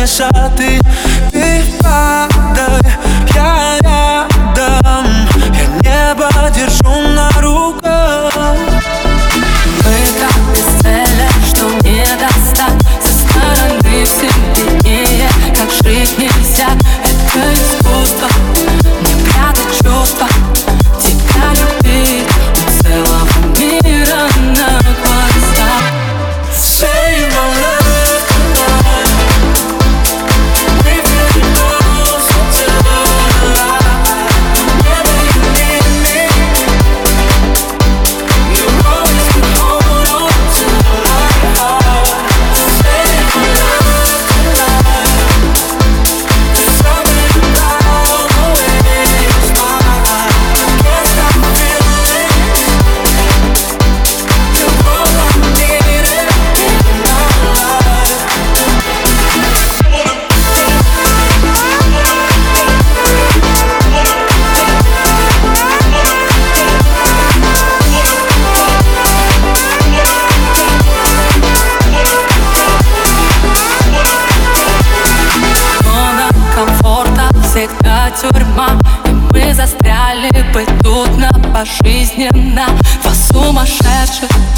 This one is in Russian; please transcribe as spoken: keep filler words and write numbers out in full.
высоты. Ты падай, я рядом, я небо держу на руках. Мы так бесцельны, что не достать. Со стороны все виднее, как жить нельзя. Это искусство, не прятать чувства. Тебя любить у целого мира на глазах. Save my love tonight. We feel close to the light. Whenever you need me, you always can hold on to my heart. Save my love tonight. There's something about the way you smile. Can't stop feeling. You're all I need in my life. Зона комфорта всегда тюрьма, и мы застряли бы тут на пожизненно. Два сумасшедших